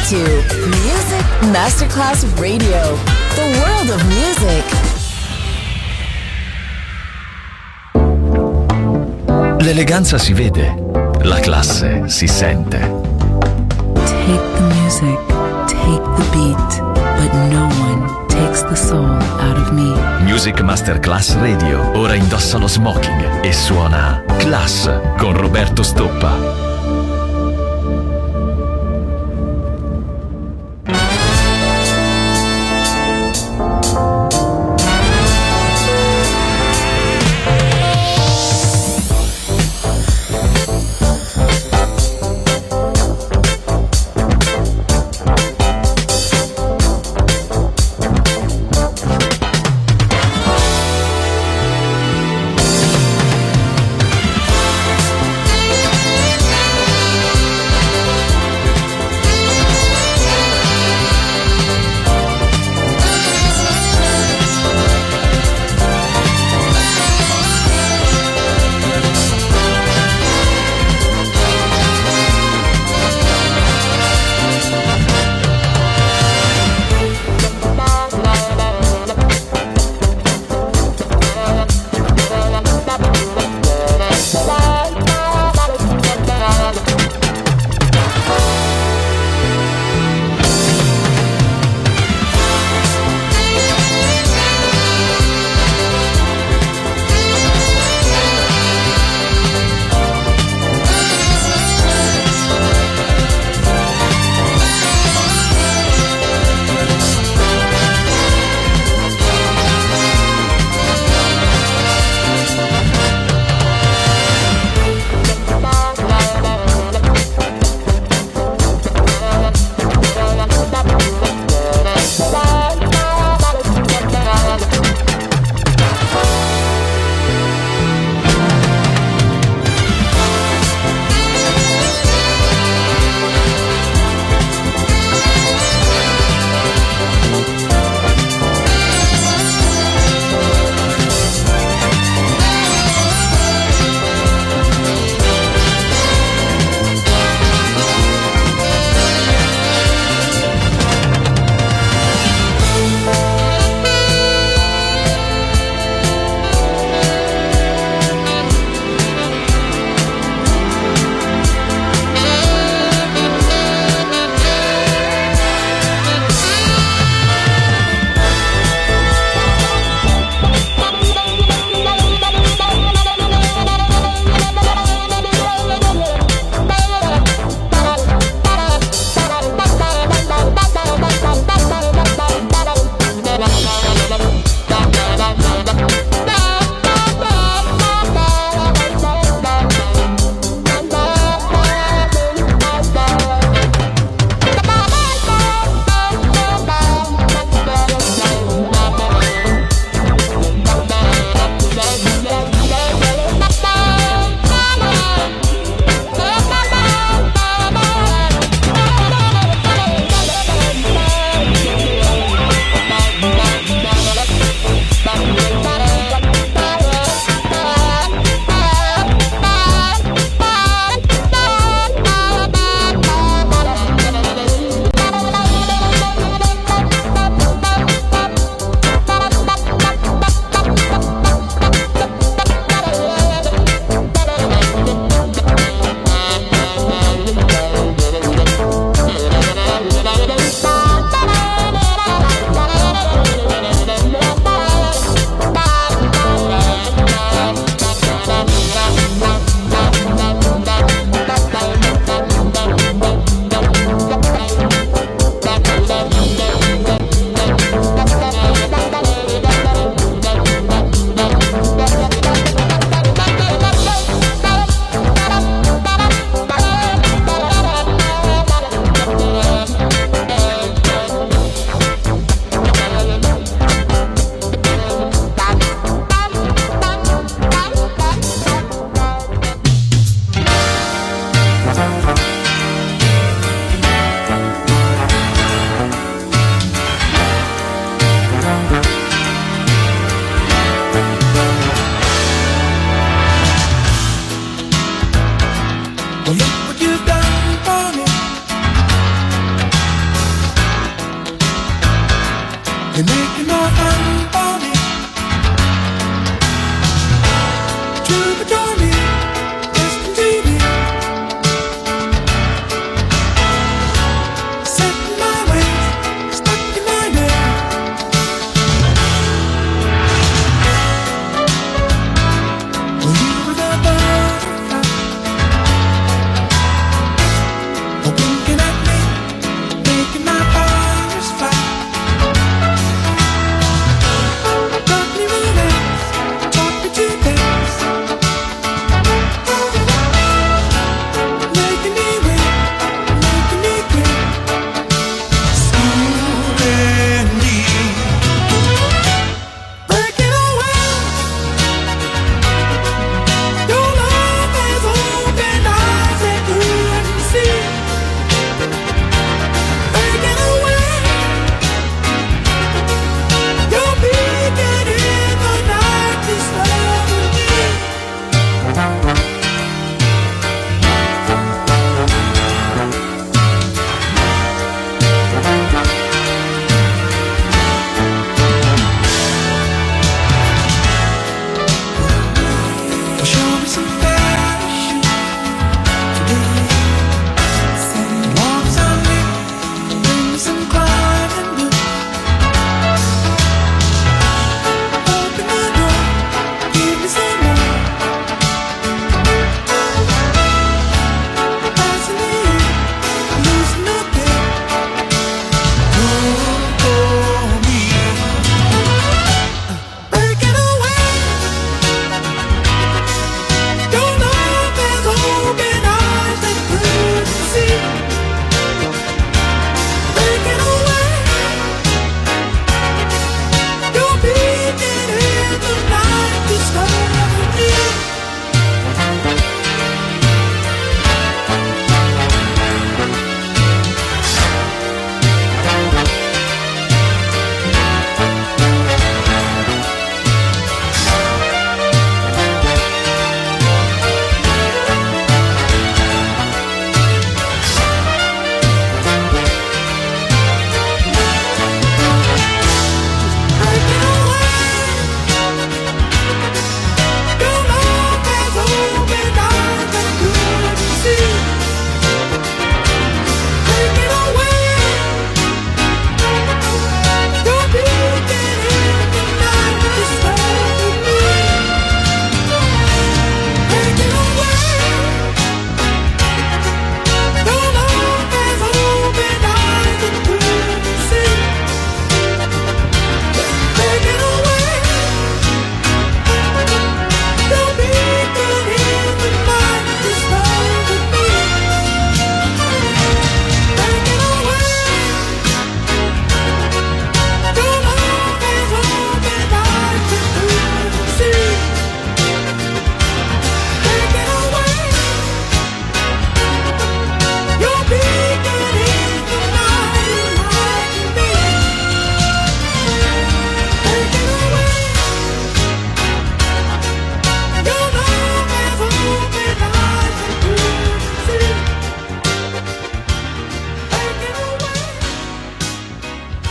to Music Masterclass Radio, the world of music. L'eleganza si vede, la classe si sente. Take the music, take the beat, but no one takes the soul out of me. Music Masterclass Radio ora indossa lo smoking e suona Class con Roberto Stoppa.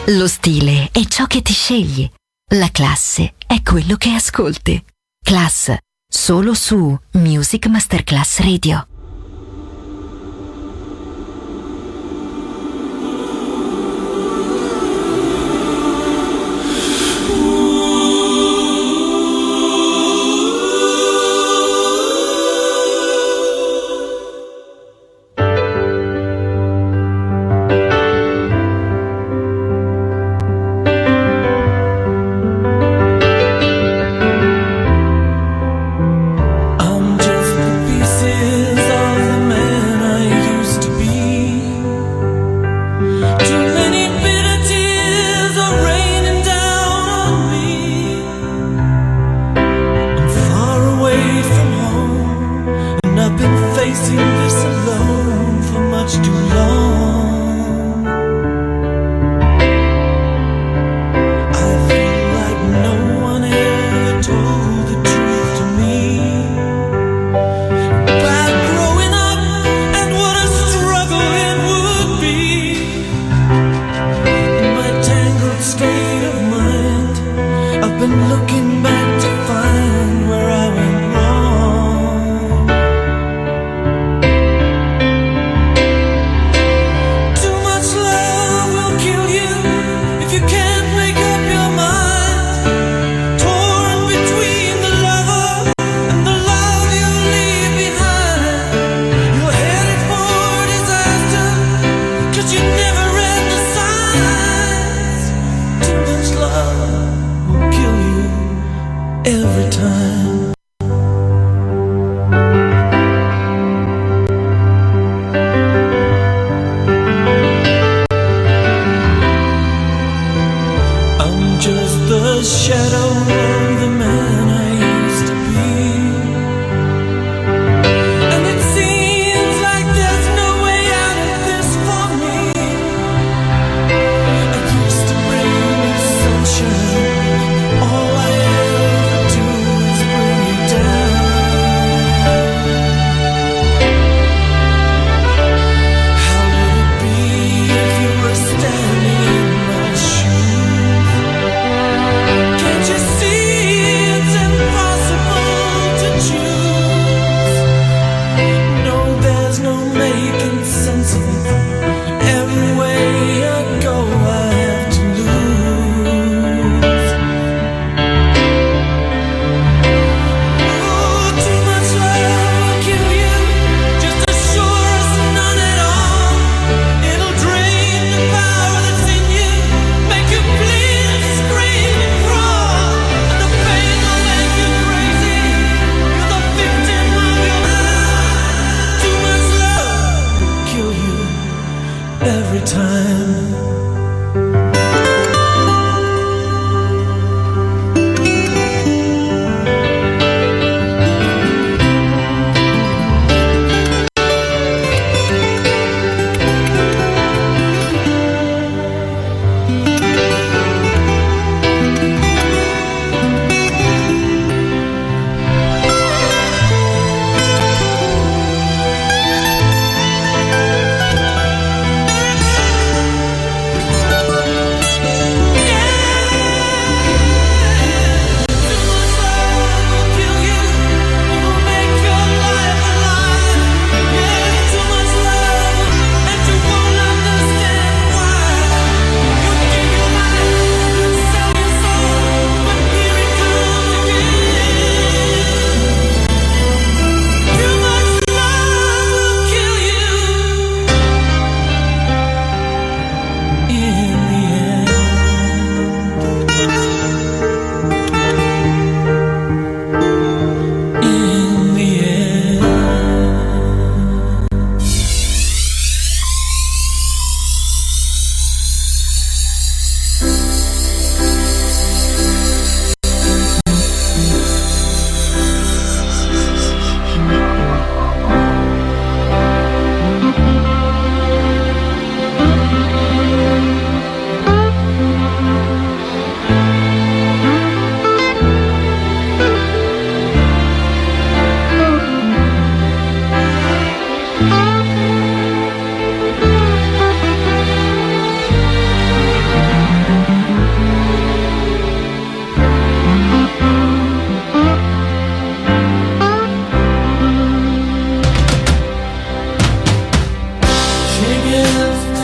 Lo stile è ciò che ti scegli. La classe è quello che ascolti. Class, solo su Music Masterclass Radio.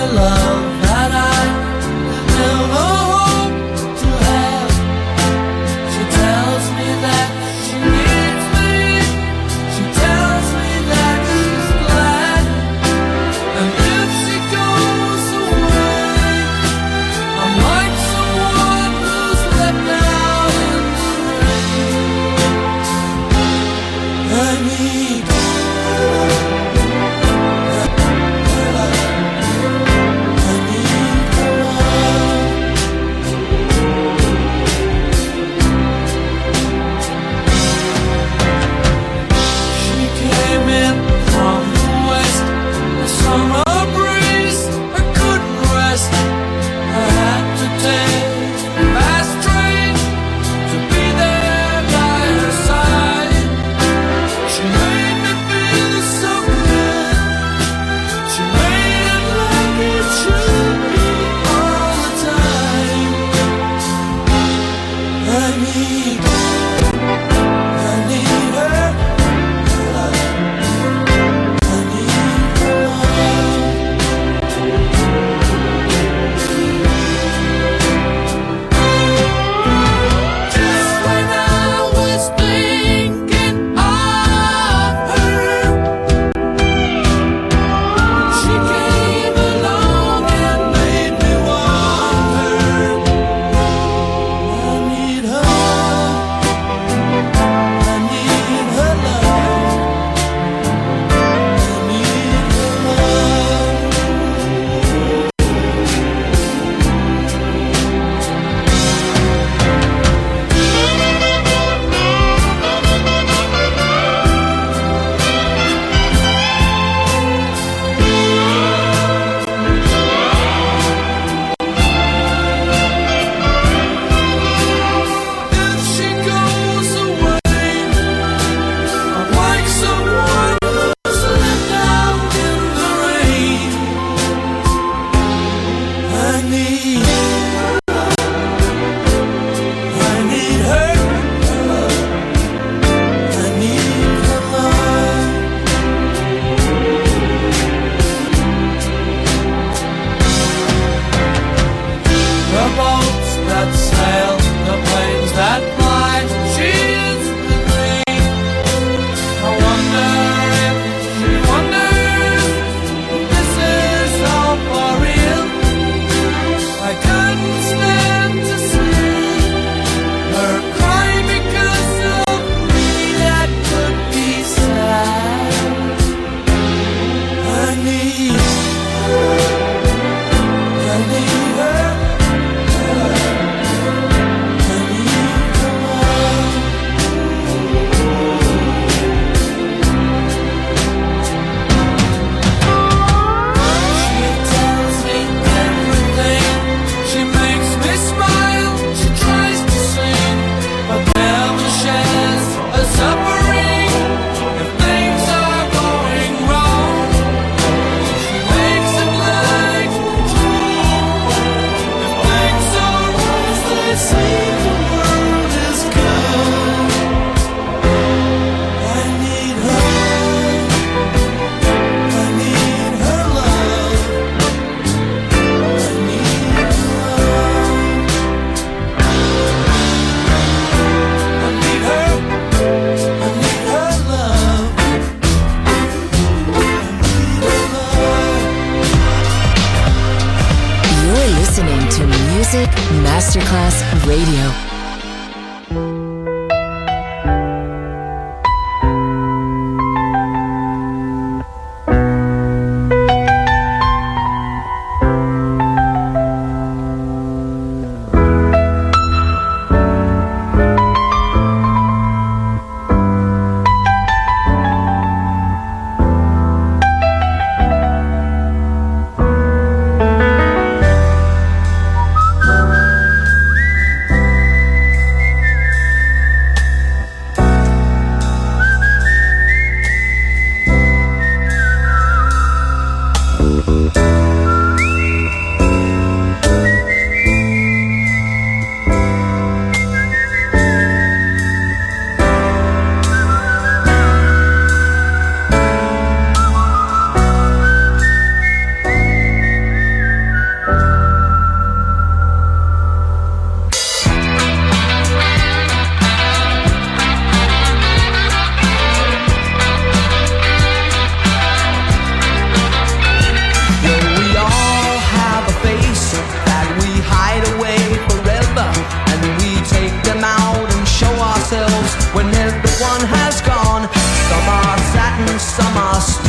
Music Masterclass Radio.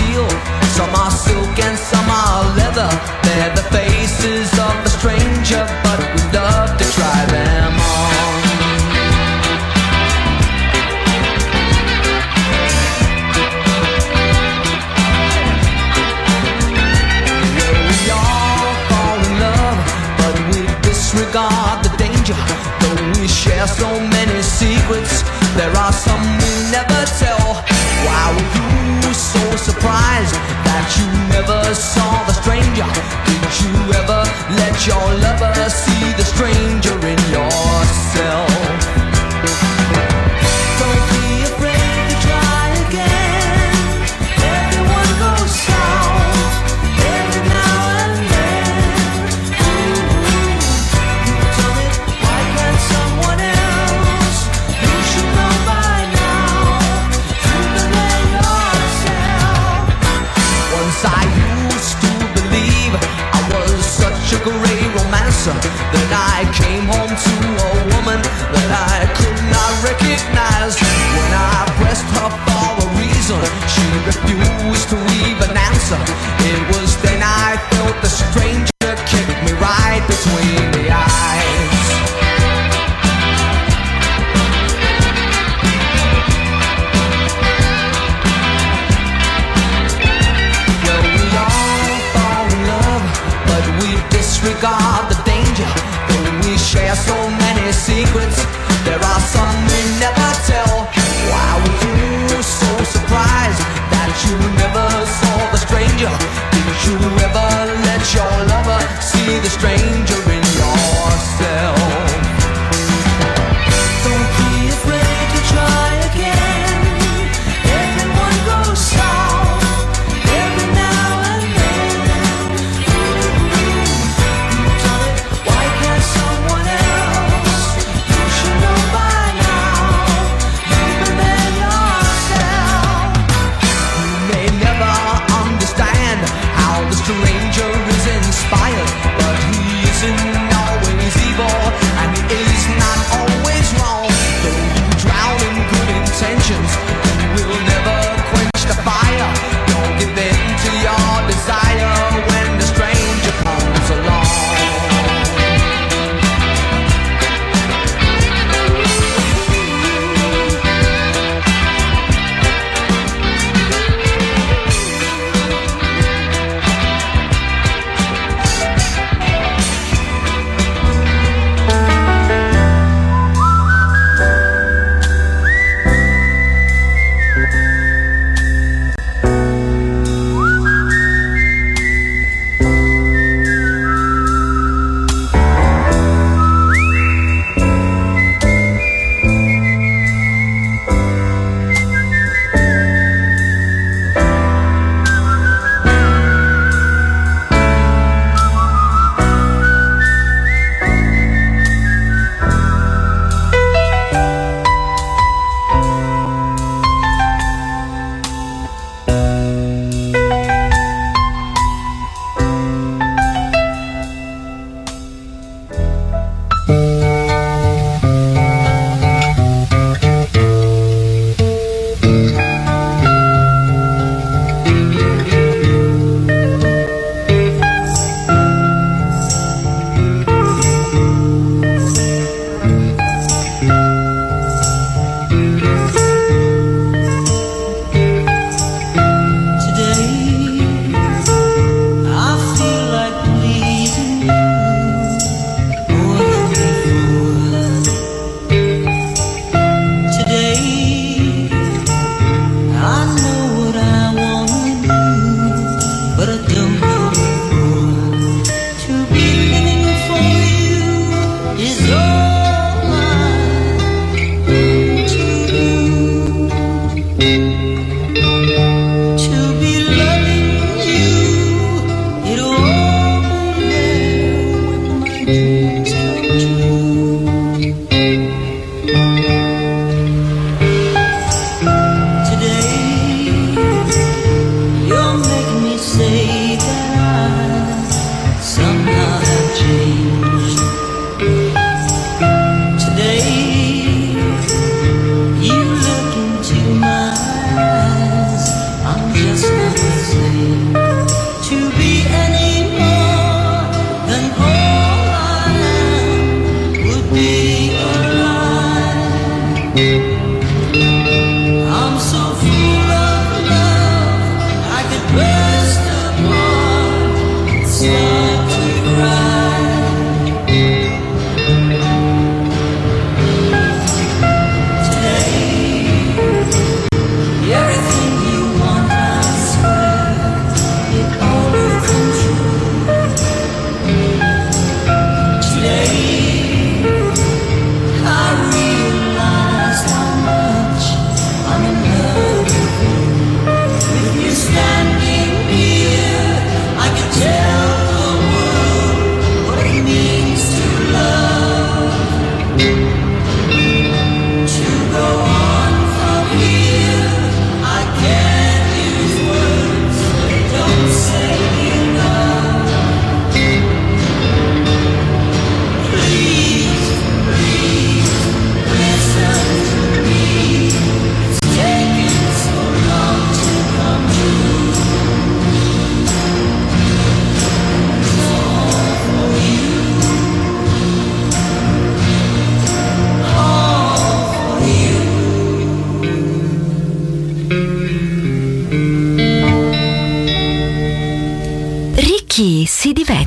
steel, some are silk and some are leather. They're the faces of the stranger, but we love to try them on. We all fall in love, but we disregard the danger. Though we share so many secrets, there are some we never tell. Why were you so surprised that you never saw the stranger? Did you ever let your lover see the stranger in yourself? Don't be afraid to try again. Everyone goes south every now and then. You tell me, why can't someone else? You should know by now. You can let yourself. Once I used to believe I was such a great romancer that I came home to a woman that I could not recognize. When I pressed her for a reason, she refused to even answer. It was then I felt the stranger kick me right between the eyes. Well, we all fall in love, but we disregard the danger. Though we share so many secrets, there are some we never tell. Why were you so surprised that you never saw the stranger? Did you ever let your lover see the stranger in yourself? Don't be afraid to try again. Everyone goes south every now and then. You tell it,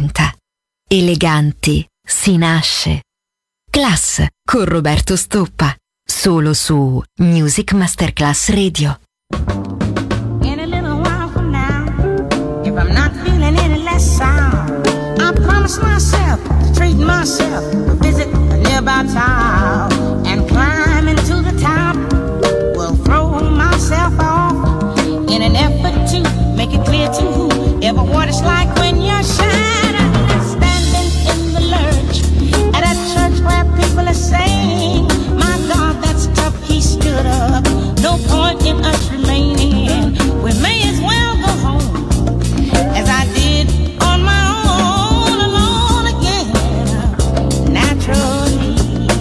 diventa. Eleganti si nasce. Class con Roberto Stoppa. Solo su Music Masterclass Radio. In a little while from now, if I'm not feeling any less sound, I promise myself to treat myself, to visit a nearby town, and climb into the top. Will throw myself off in an effort to make it clear to whoever what it's like when you're shining, standing in the lurch at a church where people are saying, "My God, that's tough." He stood up. No point in us remaining. We may as well go home as I did on my own, alone again, naturally.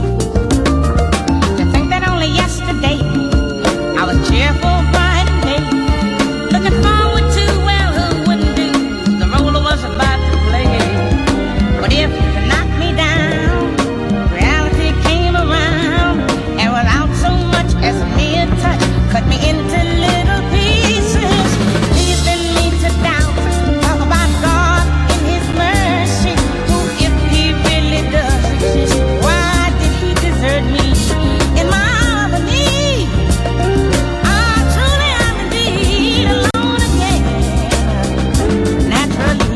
To think that only yesterday I was cheerful, bright and gay, looking forward to, well, who wouldn't do the role I was about to play. But if to knock me down, reality came around, and without so much as a mere touch, cut me into little pieces, leaving me to doubt. Talk about God in His mercy, who, if He really does exist, why did He desert me in my hour of need? I truly am indeed alone again, naturally.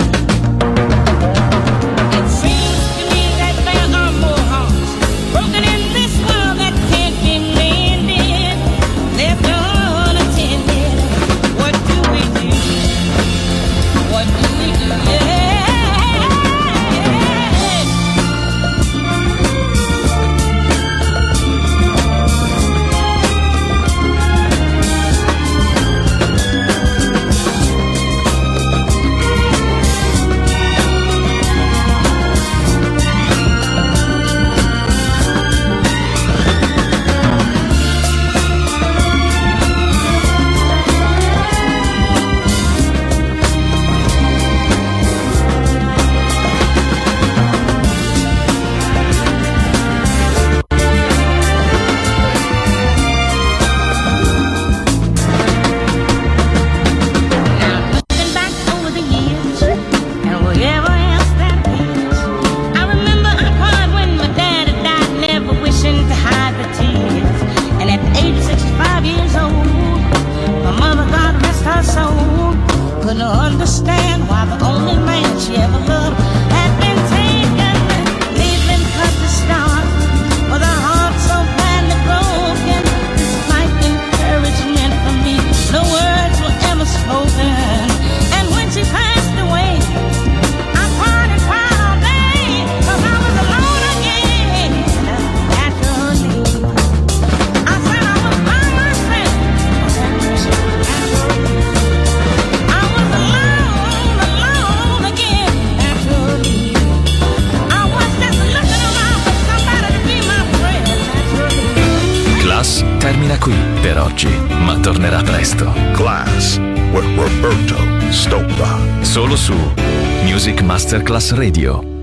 It seems to me that there are more hearts broken in this world that can't be mended, left unattended. What do we do? What do we do? Yeah. Looking back over the years and whatever else that is, I remember I cried when my daddy died, never wishing to hide the tears. And at the age of 65 years old, my mother, God rest her soul, couldn't understand why the only man she ever loved had been taken, leaving her to start with a heart so badly broken. This life encouragement for me, no words were ever spoken. And when she passed away, I cried and cried all day, 'cause I was alone again, naturally. I said I was by myself, naturally. I was alone again, naturally. I was just looking around for somebody to be my friend, naturally. Class termina qui per oggi, ma tornerà presto. Class with Roberto Stoppa. Solo su Music Masterclass Radio.